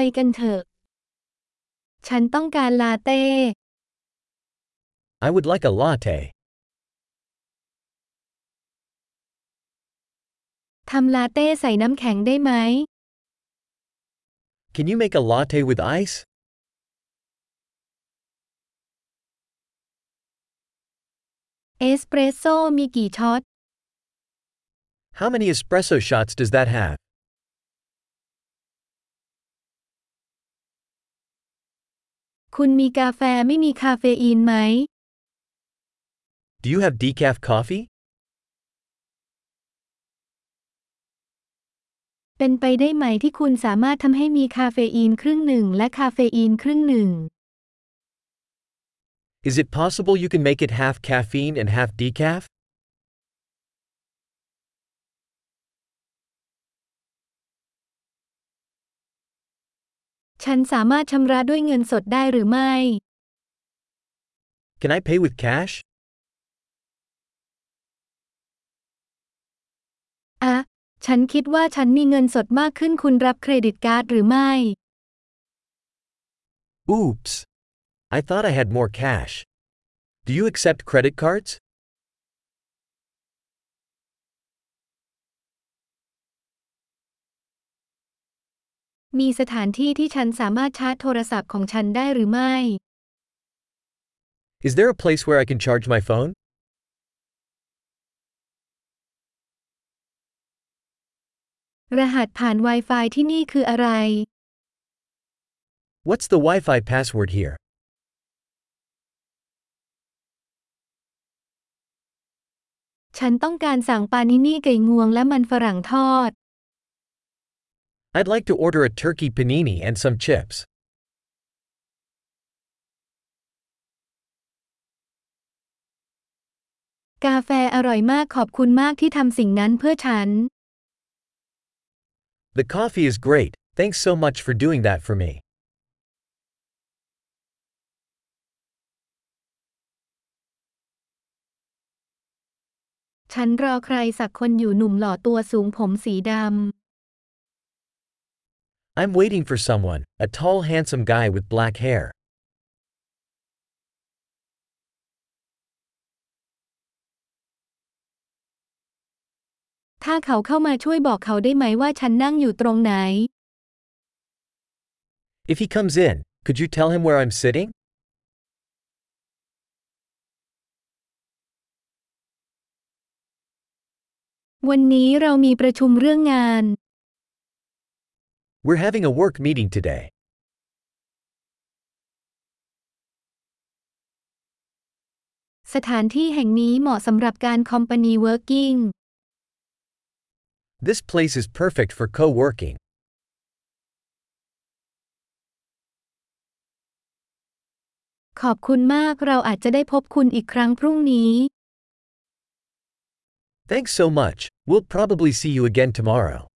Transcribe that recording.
กันเถอะฉันต้องการลาเต้ I would like a latte. ทำลาเต้ใส่น้ำแข็งได้ไหม Can you make a latte with ice? เอสเปรสโซ่มีกี่ช็อต How many espresso shots does that have? คุณมีกาแฟไม่มีคาเฟอีนไหม Do you have decaf coffee? เป็นไปได้ไหมที่คุณสามารถทำให้มีคาเฟอีนครึ่งหนึ่งและคาเฟอีนครึ่งหนึ่ง Is it possible you can make it half caffeine and half decaf? ฉันสามารถชำระด้วยเงินสดได้หรือไม่ Can I pay with cash? ฉันคิดว่าฉันมีเงินสดมากขึ้นคุณรับเครดิตการ์ดหรือไม่ Oops. I thought I had more cash. Do you accept credit cards? มีสถานที่ที่ฉันสามารถชาร์จโทรศัพท์ของฉันได้หรือไม่ Is there a place where I can charge my phone? รหัสผ่าน Wi-Fi ที่นี่คืออะไร What's the Wi-Fi password here? ฉันต้องการสั่งปานินี่ไก่งวงและมันฝรั่งทอด I'd like to order a turkey panini and some chips. กาแฟอร่อยมากขอบคุณมากที่ทำสิ่งนั้นเพื่อฉัน The coffee is great, thanks so much for doing that for me. ฉันรอใครสักคนอยู่หนุ่มหล่อตัวสูงผมสีดำ I'm waiting for someone, a tall handsome guy with black hair. ถ้าเขาเข้ามาช่วยบอกเขาได้ไหมว่าฉันนั่งอยู่ตรงไหน If he comes in, could you tell him where I'm sitting? วันนี้เรามีประชุมเรื่องงาน We're having a work meeting today. สถานที่แห่งนี้เหมาะสำหรับการ company working This place is perfect for co-working. ขอบคุณมากเราอาจจะได้พบคุณอีกครั้งพรุ่งนี้ Thanks so much, we'll probably see you again tomorrow.